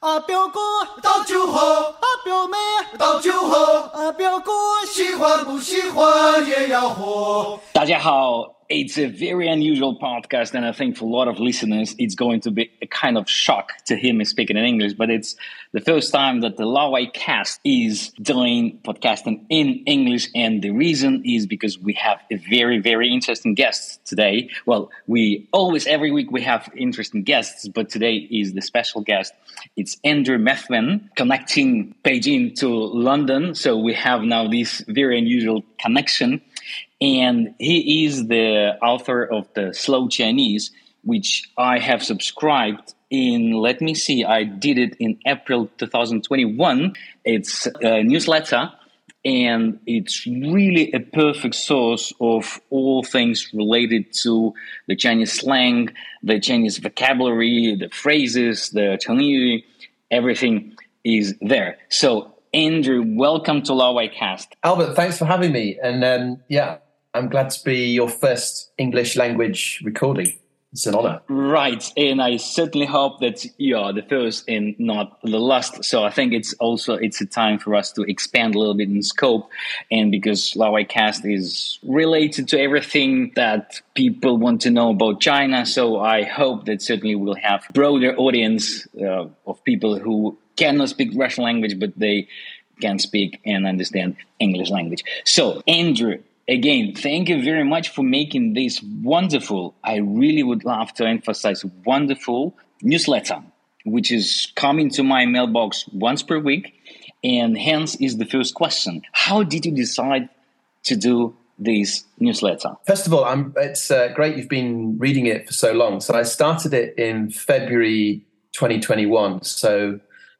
啊表哥倒酒喝，啊表妹倒酒喝，啊表哥喜欢不喜欢也要喝。 大家好. It's a very unusual podcast, and I think for a lot of listeners, it's going to be a kind of shock to hear me speaking in English. But it's the first time that the Lawai cast is doing podcasting in English, and the reason is because we have a very, very interesting guest today. Well, every week we have interesting guests, but today is the special guest. It's Andrew Methven, connecting Beijing to London. So we have now this very unusual connection. And he is the author of the Slow Chinese, which I have subscribed in, let me see, I did it in April 2021. It's a newsletter, and it's really a perfect source of all things related to the Chinese slang, the Chinese vocabulary, the phrases, the Chengyu, everything is there. So, Andrew, welcome to Lawai Cast. Albert, thanks for having me. And I'm glad to be your first English language recording. It's an honor. Right. And I certainly hope that you are the first and not the last. So I think it's a time for us to expand a little bit in scope. And because Lawai Cast is related to everything that people want to know about China. So I hope that certainly we'll have a broader audience of people who cannot speak Russian language, but they can speak and understand English language. So, Andrew, again, thank you very much for making this wonderful, I really would love to emphasize, wonderful newsletter, which is coming to my mailbox once per week. And hence is the first question. How did you decide to do this newsletter? First of all, it's great you've been reading it for so long. So I started it in February 2021. So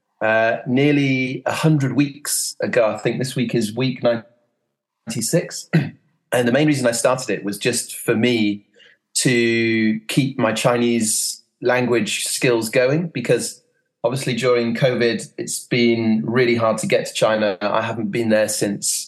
nearly 100 weeks ago. I think this week is week 96. And the main reason I started it was just for me to keep my Chinese language skills going, because obviously during COVID, it's been really hard to get to China. I haven't been there since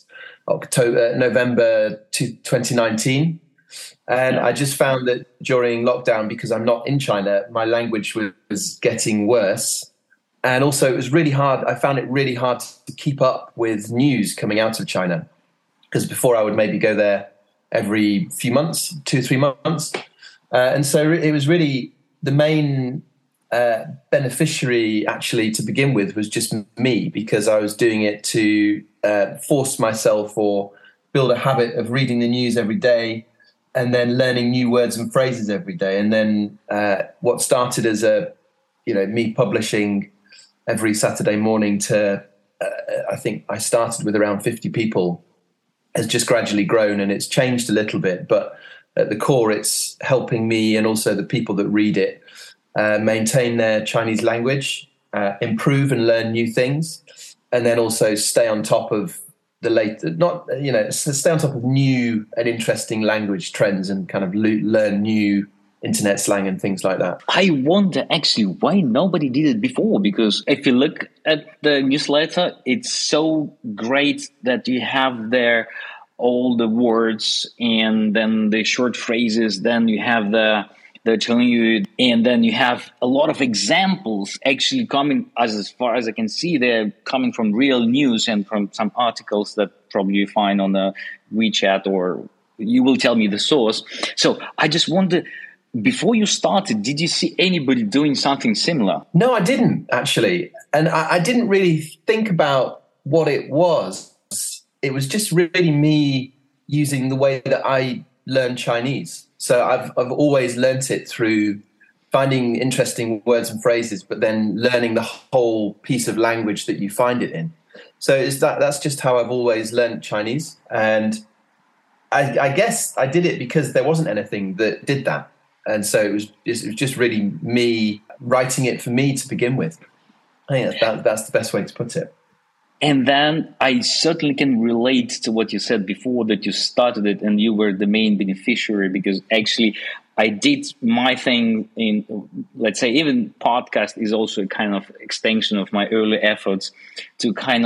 November 2019. And I just found that during lockdown, because I'm not in China, my language was getting worse. And also it was really hard. I found it really hard to keep up with news coming out of China, because before I would maybe go there every few months, 2-3 months. And so it was really the main beneficiary actually to begin with was just me, because I was doing it to force myself or build a habit of reading the news every day and then learning new words and phrases every day. And then what started as me publishing every Saturday morning to, I think I started with around 50 people, has just gradually grown, and it's changed a little bit. But at the core, it's helping me and also the people that read it maintain their Chinese language, improve and learn new things, and then also stay on top of stay on top of new and interesting language trends and kind of learn new internet slang and things like that. I wonder actually why nobody did it before, because if you look at the newsletter, it's so great that you have there all the words and then the short phrases, then you have the Chengyu, and then you have a lot of examples actually coming, as far as I can see, they're coming from real news and from some articles that probably you find on the WeChat, or you will tell me the source. So I just wonder, before you started, did you see anybody doing something similar? No, I didn't actually. And I didn't really think about what it was. It was just really me using the way that I learn Chinese. So I've always learnt it through finding interesting words and phrases, but then learning the whole piece of language that you find it in. So that's just how I've always learnt Chinese. And I guess I did it because there wasn't anything that did that. And so it was just really me writing it for me to begin with. I think that's the best way to put it. And then I certainly can relate to what you said before, that you started it and you were the main beneficiary, because actually I did my thing in, let's say, even podcast is also a kind of extension of my early efforts to kind of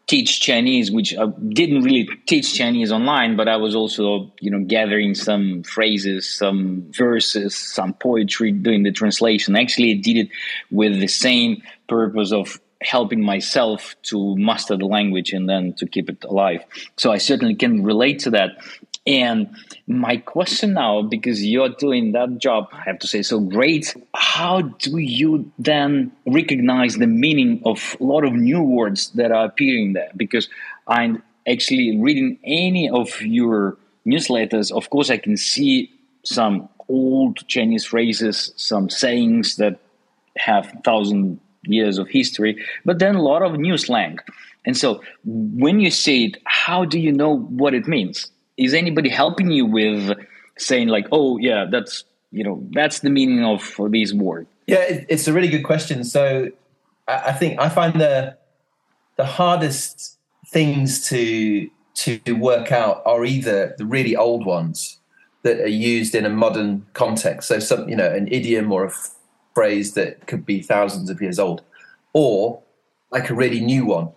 teach Chinese, which I didn't really teach Chinese online, but I was also, gathering some phrases, some verses, some poetry, doing the translation. Actually, I did it with the same purpose of helping myself to master the language and then to keep it alive. So I certainly can relate to that. And my question now, because you're doing that job, I have to say, so great, how do you then recognize the meaning of a lot of new words that are appearing there? Because I'm actually reading any of your newsletters, of course, I can see some old Chinese phrases, some sayings that have 1,000 years of history, but then a lot of new slang. And so when you say it, how do you know what it means? Is anybody helping you with saying like, oh yeah, that's the meaning of these words? Yeah, it's a really good question. So I think I find the hardest things to work out are either the really old ones that are used in a modern context. So an idiom or a phrase that could be thousands of years old, or like a really new one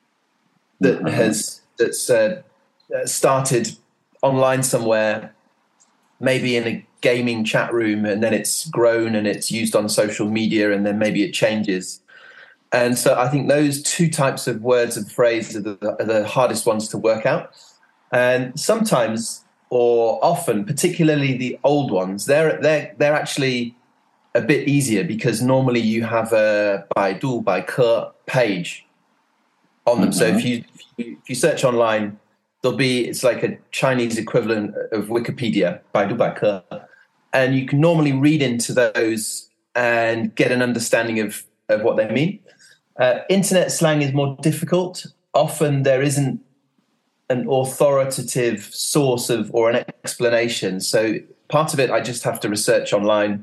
that's started online somewhere, maybe in a gaming chat room, and then it's grown and it's used on social media, and then maybe it changes. And so I think those two types of words and phrases are the hardest ones to work out. And sometimes, or often, particularly the old ones, they're actually a bit easier, because normally you have a Baidu, Baike page on them. So if you search online, it's like a Chinese equivalent of Wikipedia, Baidu Baike, and you can normally read into those and get an understanding of what they mean. Internet slang is more difficult. Often there isn't an authoritative source or an explanation. So part of it, I just have to research online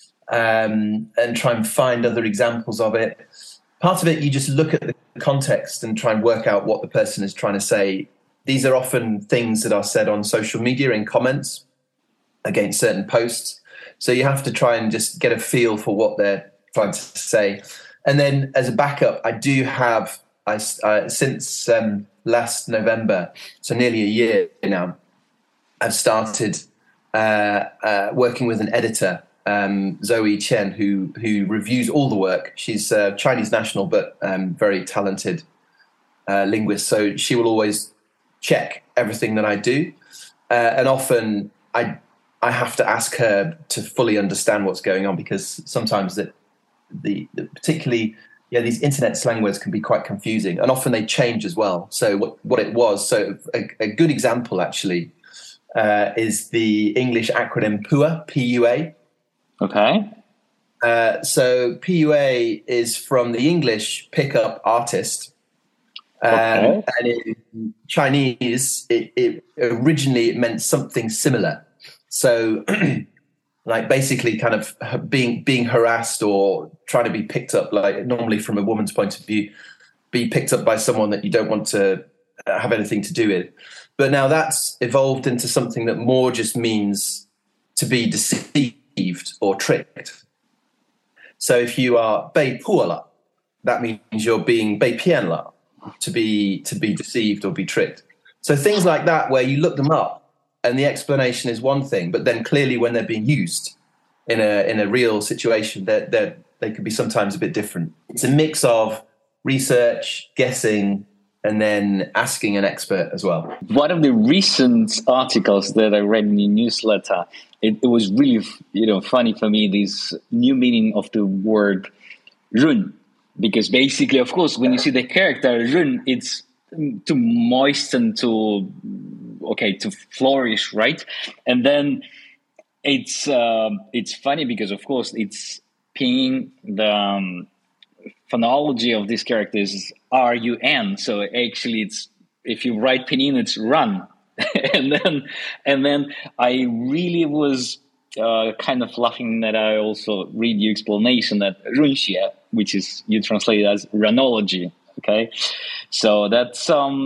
and try and find other examples of it. Part of it, you just look at the context and try and work out what the person is trying to say. These are often things that are said on social media in comments against certain posts. So you have to try and just get a feel for what they're trying to say. And then as a backup, I do have, since last November, so nearly a year now, I've started working with an editor, Zoe Chen, who reviews all the work. She's a Chinese national, but very talented linguist. So she will always check everything that I do. And often I have to ask her to fully understand what's going on, because sometimes particularly these internet slang words can be quite confusing, and often they change as well. So what it was, so a good example actually is the English acronym PUA, P-U-A. Okay. So PUA is from the English pickup artist. And in Chinese, it originally meant something similar. So like basically kind of being harassed or trying to be picked up, like normally from a woman's point of view, be picked up by someone that you don't want to have anything to do with. But now that's evolved into something that more just means to be deceived or tricked. So if you are 被迫了, that means you're being 被骗了, to be deceived or be tricked. So things like that, where you look them up and the explanation is one thing, but then clearly when they're being used in a real situation, they could be sometimes a bit different. It's a mix of research, guessing, and then asking an expert as well. One of the recent articles that I read in your newsletter, it was really funny for me, this new meaning of the word "run," because basically, of course, when you see the character "run," it's to moisten, to flourish, right? And then it's funny because, of course, it's pinyin, the phonology of this character is R-U-N. So actually, it's, if you write pinyin, it's run. and then I really was kind of laughing that I also read your explanation that runxie, which is you translate it as runology. Okay, so that's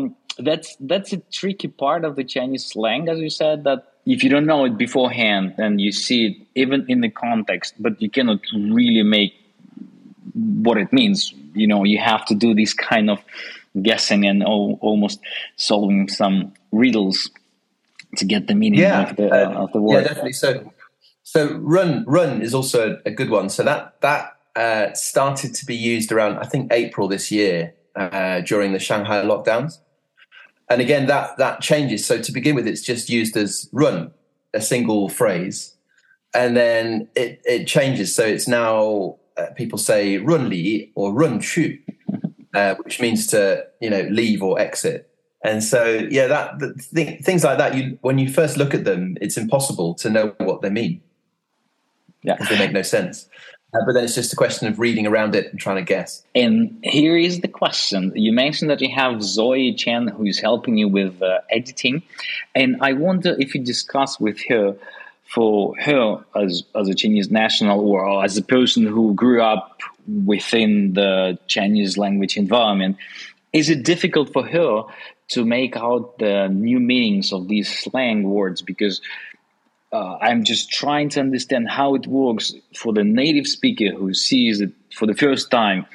a tricky part of the Chinese slang, as you said, that if you don't know it beforehand and you see it even in the context, but you cannot really make what it means. You have to do this kind of guessing and almost solving some riddles to get the meaning of the word. Yeah, definitely. So run is also a good one. So that started to be used around, I think, April this year during the Shanghai lockdowns. And again, that changes. So to begin with, it's just used as run, a single phrase, and then it changes. So it's now people say run li or run chu, which means to leave or exit. And so things like that. When you first look at them, it's impossible to know what they mean. Yeah, because they make no sense. But then it's just a question of reading around it and trying to guess. And here is the question. You mentioned that you have Zoe Chen who is helping you with editing. And I wonder if you discuss with her, for her as a Chinese national or as a person who grew up within the Chinese language environment, is it difficult for her to make out the new meanings of these slang words? Because I'm just trying to understand how it works for the native speaker who sees it for the first time.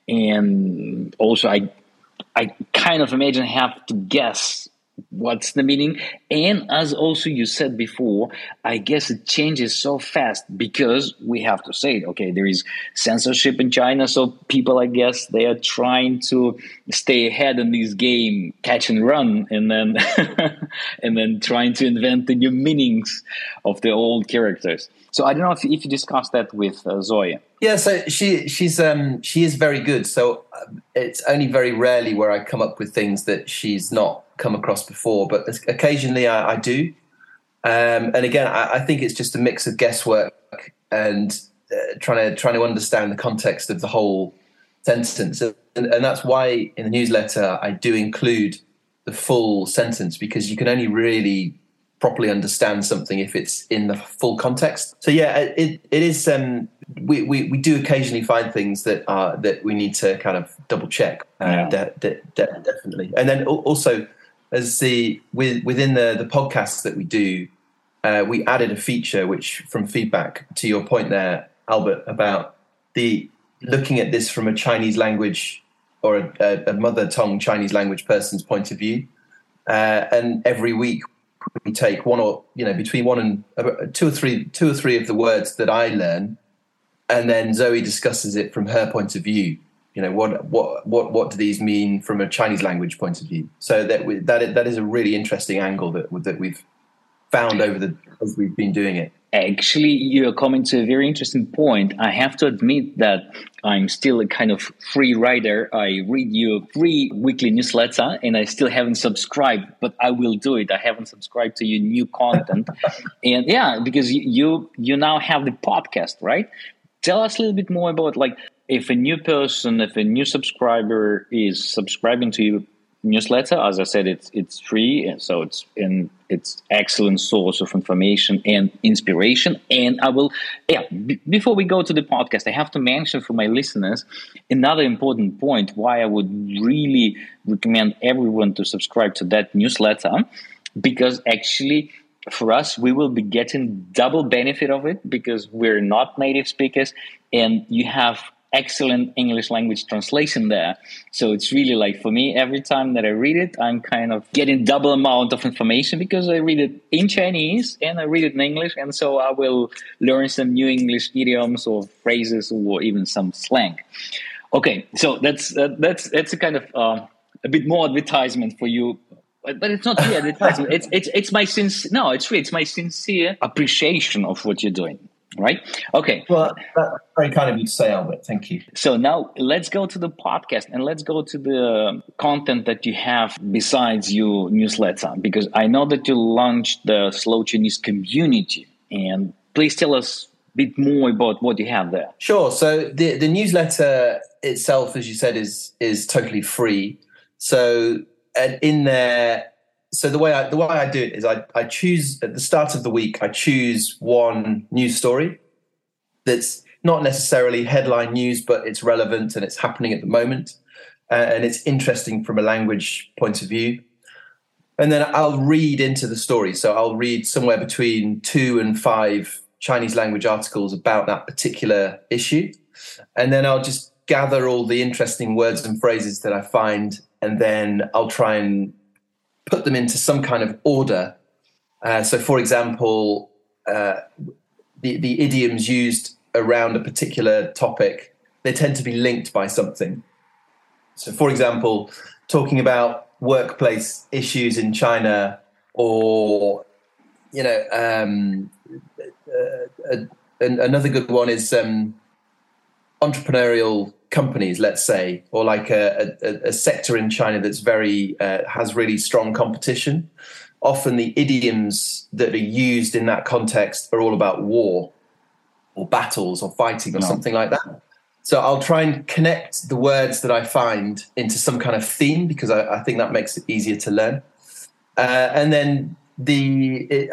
And also I kind of imagine have to guess what's the meaning. And as also you said before, I guess it changes so fast because we have to say it. Okay, there is censorship in China, so people, I guess, they are trying to stay ahead in this game, catch and run, and then and then trying to invent the new meanings of the old characters. So I don't know if you discussed that with Zoe. Yeah, so she is very good. So it's only very rarely where I come up with things that she's not come across before, but occasionally I do. And again, I think it's just a mix of guesswork and trying to understand the context of the whole sentence. And that's why in the newsletter I do include the full sentence, because you can only really properly understand something if it's in the full context. So yeah, it is. We do occasionally find things that we need to kind of double check. Definitely. And then also, as within the podcasts that we do, we added a feature which, from feedback to your point there, Albert, about the looking at this from a Chinese language or a mother tongue Chinese language person's point of view, and every week we take one or between one and two or three of the words that I learn, and then Zoe discusses it from her point of view. What do these mean from a Chinese language point of view? So that is a really interesting angle that we've found as we've been doing it. Actually, you're coming to a very interesting point. I have to admit that I'm still a kind of free rider. I read your free weekly newsletter and I still haven't subscribed, but I will do it. I haven't subscribed to your new content. And yeah, because you now have the podcast, right? Tell us a little bit more about, like, if a new subscriber is subscribing to your newsletter. As I said, it's free, and so it's excellent source of information and inspiration. And I will, before we go to the podcast, I have to mention for my listeners another important point why I would really recommend everyone to subscribe to that newsletter, because actually, for us, we will be getting double benefit of it because we're not native speakers, and you have excellent English language translation there. So it's really like, for me, every time that I read it, I'm kind of getting double amount of information because I read it in Chinese and I read it in English. And so I will learn some new English idioms or phrases or even some slang. Okay, so that's a kind of a bit more advertisement for you. But it's not really advertisement. It's my it's my sincere appreciation of what you're doing. Right? Okay. Well, that's very kind of you to say, Albert. Thank you. So now let's go to the podcast and let's go to the content that you have besides your newsletter, because I know that you launched the Slow Chinese community, and please tell us a bit more about what you have there. Sure. So the newsletter itself, as you said, is totally free. So in there. So the way I do it is I choose at the start of the week, I choose one news story that's not necessarily headline news, but it's relevant and it's happening at the moment, and it's interesting from a language point of view. And then I'll read into the story. So I'll read somewhere between 2 and 5 Chinese language articles about that particular issue. And then I'll just gather all the interesting words and phrases that I find and then I'll try and put them into some kind of order. So, for example, the idioms used around a particular topic, they tend to be linked by something. So, for example, talking about workplace issues in China, or, you know, another good one is entrepreneurial companies, let's say, or like a sector in China that's very has really strong competition. Often the idioms that are used in that context are all about war or battles or fighting or something like that. So I'll try and connect the words that I find into some kind of theme, because I think that makes it easier to learn. And then the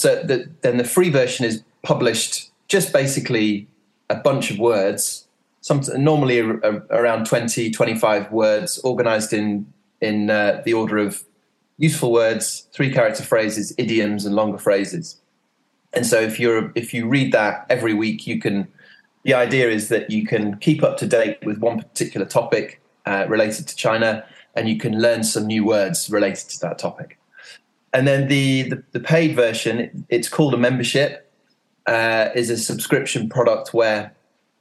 free version is published just basically a bunch of words, normally around 20, 25 words, organized in the order of useful words, 3-character phrases, idioms, and longer phrases. And so if you read that every week, the idea is that you can keep up to date with one particular topic related to China, and you can learn some new words related to that topic. And then the paid version, it's called a membership, is a subscription product where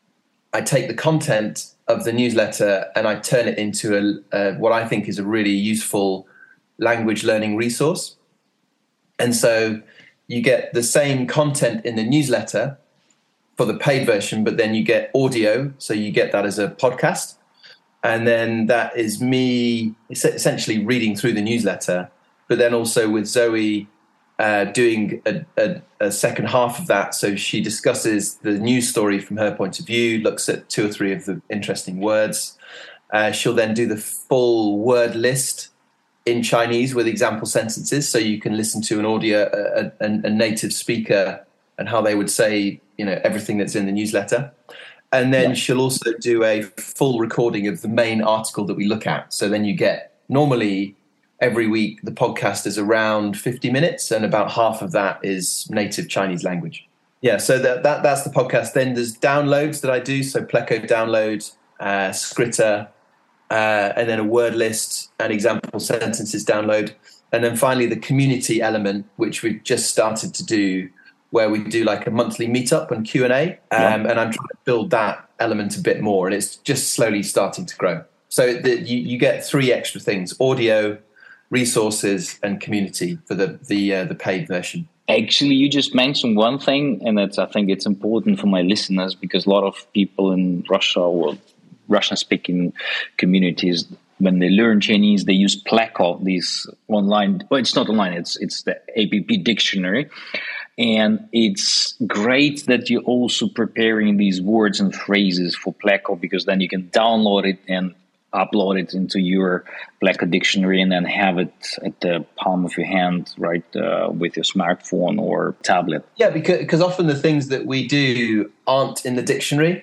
I take the content of the newsletter and I turn it into what I think is a really useful language learning resource. And so you get the same content in the newsletter for the paid version, but then you get audio, so you get that as a podcast. And then that is me essentially reading through the newsletter, but then also with Zoe doing a second half of that. So she discusses the news story from her point of view, looks at 2 or 3 of the interesting words. She'll then do the full word list in Chinese with example sentences, so you can listen to an audio, a native speaker, and how they would say, you know, everything that's in the newsletter. And then she'll also do a full recording of the main article that we look at. So then you get, normally every week, the podcast is around 50 minutes, and about half of that is native Chinese language. Yeah, so that's the podcast. Then there's downloads that I do. So Pleco download, Scritter, and then a word list and example sentences download. And then finally the community element, which we've just started to do, where we do like a monthly meetup and Q&A. And I'm trying to build that element a bit more, and it's just slowly starting to grow. So you get 3 extra things: audio, resources, and community for the paid version. Actually, you just mentioned one thing, and I think it's important for my listeners, because a lot of people in Russia or Russian-speaking communities, when they learn Chinese, they use Pleco, these online. Well, it's not online; it's the APP dictionary, and it's great that you're also preparing these words and phrases for Pleco, because then you can download it and upload it into your Pleco dictionary, and then have it at the palm of your hand, right, with your smartphone or tablet. Yeah, because often the things that we do aren't in the dictionary.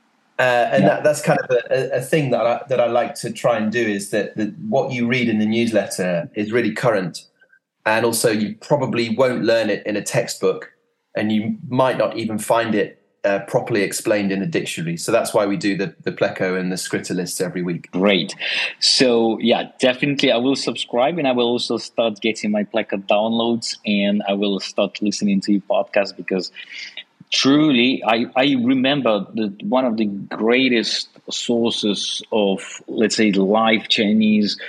That's kind of a thing that I like to try and do, is that what you read in the newsletter is really current, and also you probably won't learn it in a textbook, and you might not even find it properly explained in a dictionary. So that's why we do the Pleco and the Scritter lists every week. Great. So yeah, definitely I will subscribe, and I will also start getting my Pleco downloads, and I will start listening to your podcast, because truly, I remember that one of the greatest sources of, let's say, live Chinese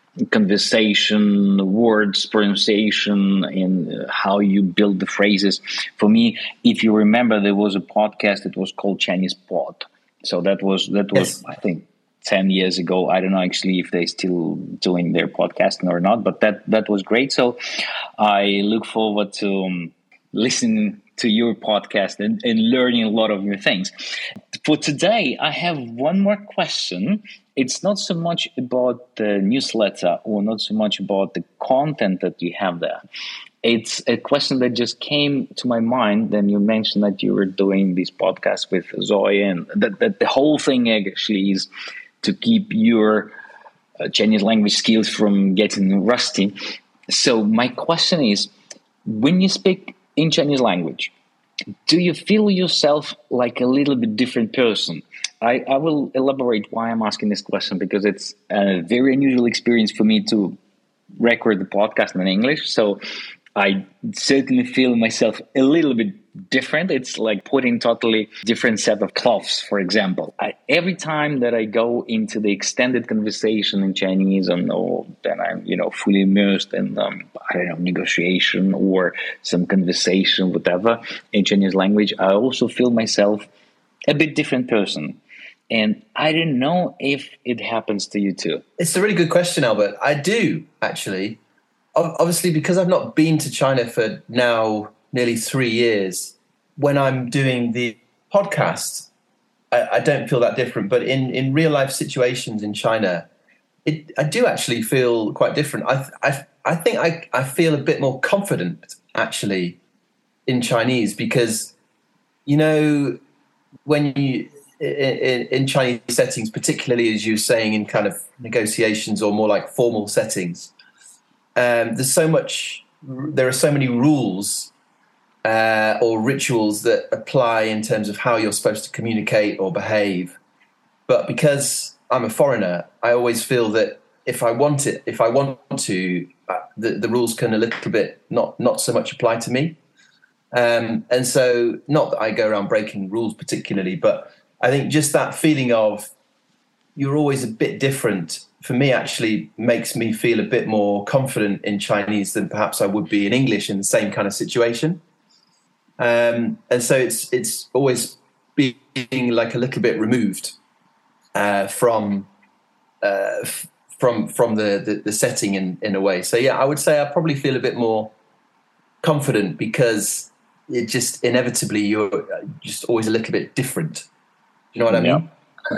conversation, words, pronunciation, and how you build the phrases. For me, if you remember, there was a podcast that was called Chinese Pod. So that was yes. I think 10 years ago. I don't know actually if they're still doing their podcasting or not, but that was great. So I look forward to listening to your podcast and learning a lot of new things. For today, I have one more question. It's not so much about the newsletter, or not so much about the content that you have there. It's a question that just came to my mind. Then you mentioned that you were doing this podcast with Zoe, and that the whole thing actually is to keep your Chinese language skills from getting rusty. So my question is, when you speak in Chinese language, do you feel yourself like a little bit different person? I will elaborate why I'm asking this question, because it's a very unusual experience for me to record the podcast in English. So I certainly feel myself a little bit different. It's like putting totally different set of clothes, for example. Every time that I go into the extended conversation in Chinese, then I'm, fully immersed in, negotiation or some conversation, whatever, in Chinese language, I also feel myself a bit different person. And I don't know if it happens to you too. It's a really good question, Albert. I do, actually. Obviously, because I've not been to China for now nearly 3 years, when I'm doing the podcast, I don't feel that different. But in real life situations in China, I do actually feel quite different. I think I feel a bit more confident, actually, in Chinese because, when you... In Chinese settings, particularly as you were saying in kind of negotiations or more like formal settings, there are so many rules or rituals that apply in terms of how you're supposed to communicate or behave. But because I'm a foreigner, I always feel that if I want to, the rules can a little bit not so much apply to me. And so, not that I go around breaking rules particularly, but I think just that feeling of you're always a bit different, for me, actually makes me feel a bit more confident in Chinese than perhaps I would be in English in the same kind of situation. And so it's always being like a little bit removed from the setting in a way. So yeah, I would say I probably feel a bit more confident because it just inevitably you're just always a little bit different. You know what I mean?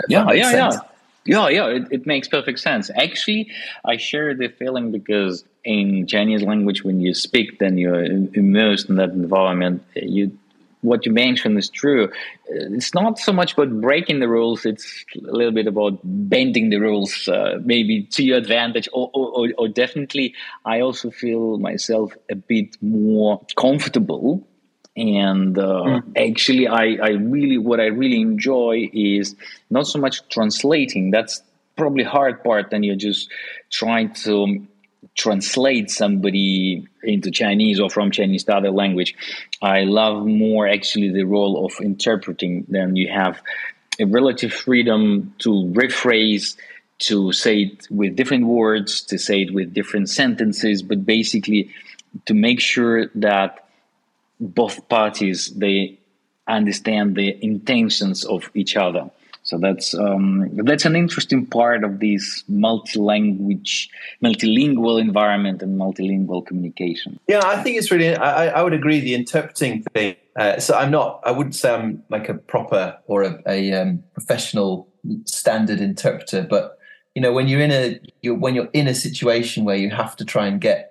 Yeah. It makes perfect sense. Actually, I share the feeling because in Chinese language, when you speak, then you're immersed in that environment. What you mentioned is true. It's not so much about breaking the rules. It's a little bit about bending the rules, maybe to your advantage, or definitely I also feel myself a bit more comfortable. And actually, what I really enjoy is not so much translating. That's probably hard part. Then you're just trying to translate somebody into Chinese or from Chinese to other language. I love more actually the role of interpreting. Then you have a relative freedom to rephrase, to say it with different words, to say it with different sentences, but basically to make sure that both parties, they understand the intentions of each other. So that's an interesting part of this multilingual environment and multilingual communication. Yeah, I think it's really. I would agree. The interpreting thing. So I wouldn't say I'm like a proper or a professional standard interpreter, but when you're in a situation where you have to try and get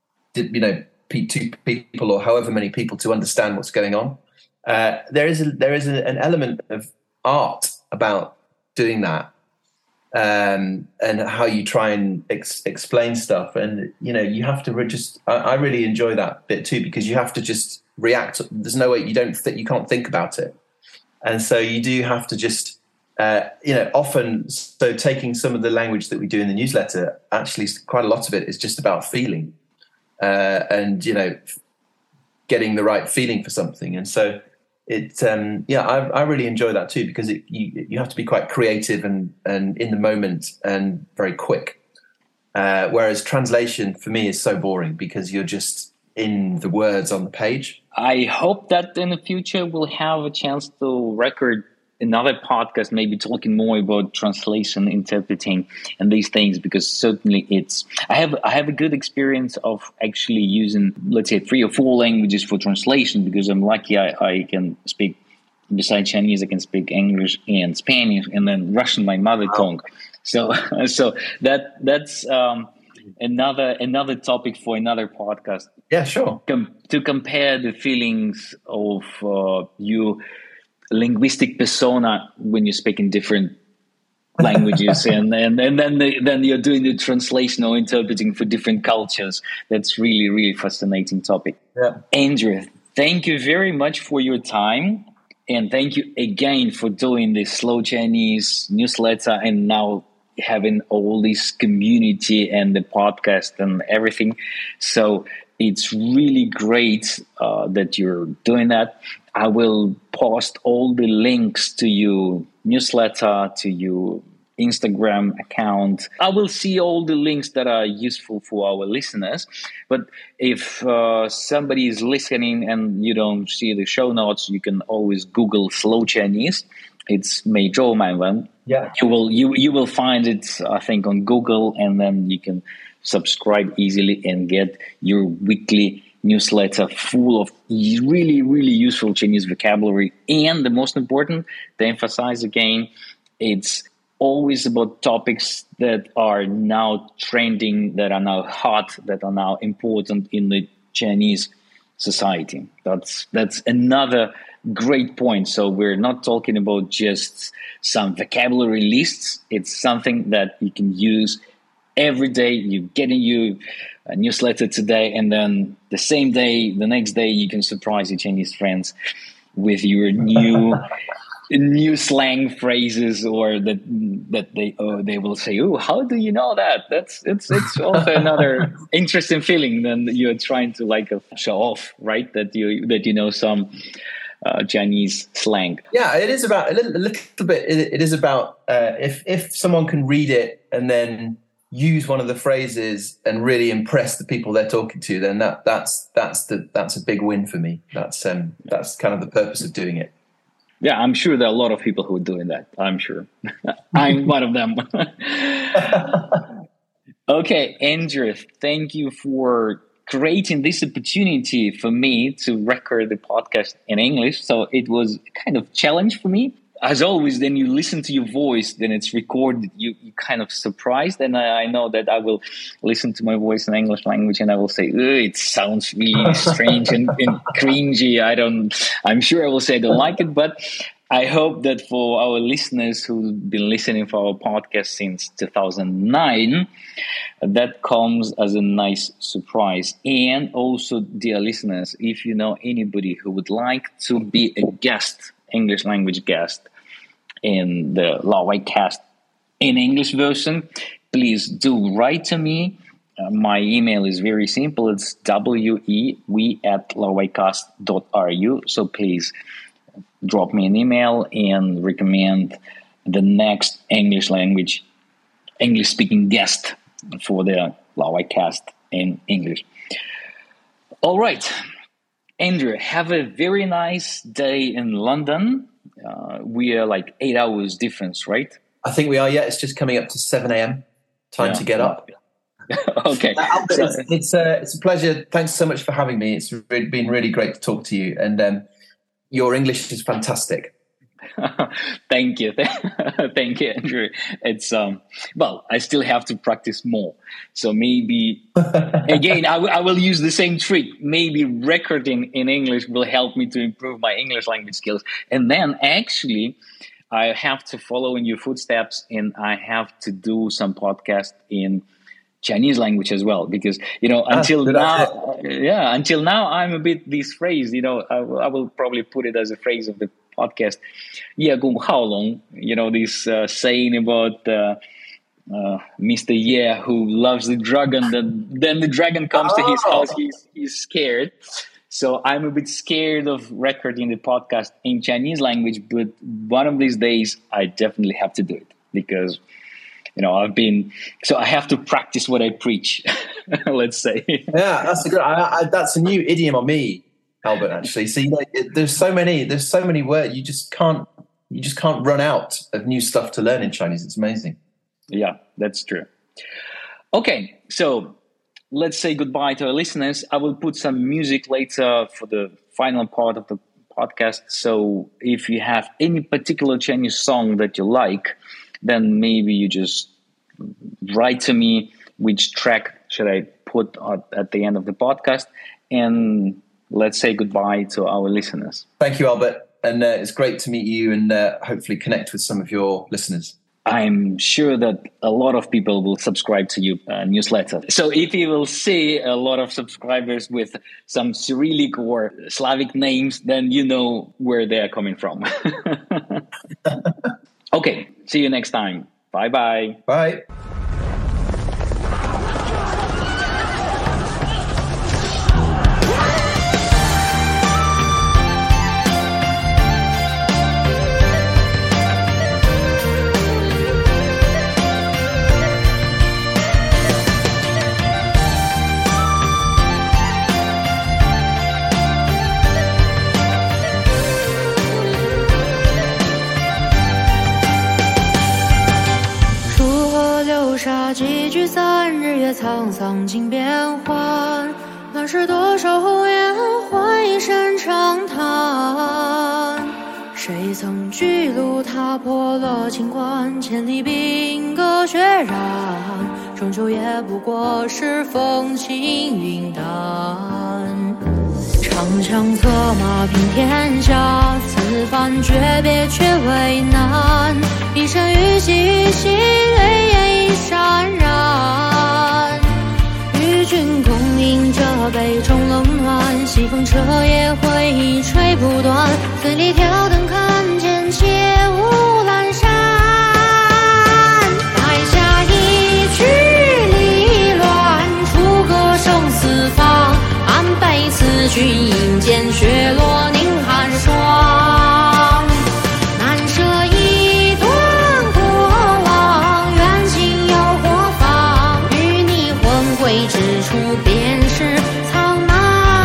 two people or however many people to understand what's going on. There is an element of art about doing that, and how you try and explain stuff. And you have to I really enjoy that bit too, because you have to just react. There's no way you can't think about it, and so you do have to just often. So taking some of the language that we do in the newsletter, actually, quite a lot of it is just about feeling. And getting the right feeling for something, and so I really enjoy that too, because you have to be quite creative and in the moment and very quick. Whereas translation for me is so boring because you're just in the words on the page. I hope that in the future we'll have a chance to record another podcast, maybe talking more about translation, interpreting, and these things, because certainly I have a good experience of actually using, let's say, 3 or 4 languages for translation, because I'm lucky I can speak, besides Chinese, I can speak English and Spanish, and then Russian, my mother tongue. So that's another topic for another podcast. Yeah, sure. To compare the feelings of you. Linguistic persona when you speak in different languages, and then you're doing the translation or interpreting for different cultures. That's really, really fascinating topic. Yeah. Andrew, Thank you very much for your time. And thank you again for doing this Slow Chinese newsletter and now having all this community and the podcast and everything. So it's really great that you're doing that. I will post all the links to your newsletter, to your Instagram account. I will see all the links that are useful for our listeners. But if somebody is listening and you don't see the show notes, you can always Google Slow Chinese. It's 每周满文. Yeah. You will find it, I think, on Google, and then you can subscribe easily and get your weekly newsletter full of really, really useful Chinese vocabulary. And the most important, to emphasize again, it's always about topics that are now trending, that are now hot, that are now important in the Chinese society. That's another great point. So we're not talking about just some vocabulary lists. It's something that you can use every day. You get a newsletter today, and then the same day, the next day, you can surprise your Chinese friends with your new slang phrases, or that they will say, "Oh, how do you know that?" It's also another interesting feeling than you're trying to show off, right? That you know some Chinese slang. Yeah, it is about a little bit. It is about if someone can read it and then use one of the phrases and really impress the people they're talking to, then that's a big win for me. That's kind of the purpose of doing it. Yeah, I'm sure there are a lot of people who are doing that. I'm sure. I'm one of them. Okay, Andrew, thank you for creating this opportunity for me to record the podcast in English. So it was a kind of challenge for me. As always, then you listen to your voice, then it's recorded, you kind of surprised. And I know that I will listen to my voice in English language and I will say, it sounds really strange and cringy. I'm sure I will say I don't like it, but I hope that for our listeners who've been listening for our podcast since 2009, that comes as a nice surprise. And also, dear listeners, if you know anybody who would like to be a guest, English language guest in the Lawai Cast in English version, please do write to me. My email is very simple. It's we@lawaicast.ru. So please drop me an email and recommend the next English speaking guest for the Lawai Cast in English. All right. Andrew, have a very nice day in London. We are 8 hours difference, right? I think we are, yeah. It's just coming up to 7 a.m. Time to get up. Okay. It's a pleasure. Thanks so much for having me. It's been really great to talk to you. And your English is fantastic. Thank you. Thank you, Andrew. It's I still have to practice more. So maybe, again, I will use the same trick. Maybe recording in English will help me to improve my English language skills. And then actually, I have to follow in your footsteps and I have to do some podcast in Chinese language as well, because until now I'm a bit this phrase. I will probably put it as a phrase of the podcast. This saying about Mr. Yeah, who loves the dragon. Then the dragon comes to his house. He's scared. So I'm a bit scared of recording the podcast in Chinese language. But one of these days, I definitely have to do it because. I have to practice what I preach, let's say. Yeah, that's a new idiom on me, Albert, actually. So, there's so many words. You just can't run out of new stuff to learn in Chinese. It's amazing. Yeah, that's true. Okay, so let's say goodbye to our listeners. I will put some music later for the final part of the podcast. So if you have any particular Chinese song that you like, then maybe you just write to me which track should I put at the end of the podcast, and let's say goodbye to our listeners. Thank you, Albert, and it's great to meet you and hopefully connect with some of your listeners. I'm sure that a lot of people will subscribe to your newsletter. So if you will see a lot of subscribers with some Cyrillic or Slavic names, then you know where they are coming from. Okay, see you next time. Bye-bye. Bye. 几聚散，日月沧桑尽变幻。乱世多少红颜，换一身长叹。谁曾巨鹿踏破了秦关，千里兵戈血染，终究也不过是风轻云淡。长枪策马平天下，此番诀别却为难。一身玉玺玉玺，泪眼已潸然。与君共饮这杯中冷暖，西风彻夜回吹不断。醉里挑灯看见且无阑珊，台下一曲离乱，出歌生四方。安悲此君饮剑雪落凝寒霜。难舍一段过往，缘尽又何妨？与你魂归之处，便是苍茫。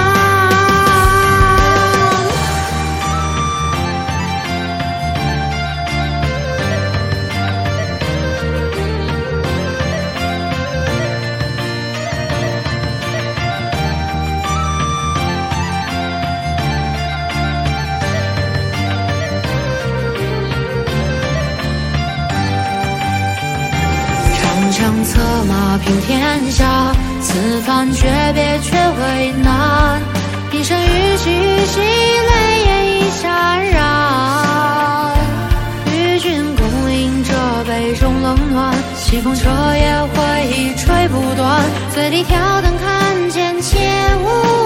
长策马平天下，此番诀别却为难。一身玉玺玉玺，泪眼已潸然。与君共饮这杯中冷暖，西风彻夜回吹不断。醉里挑灯看见且无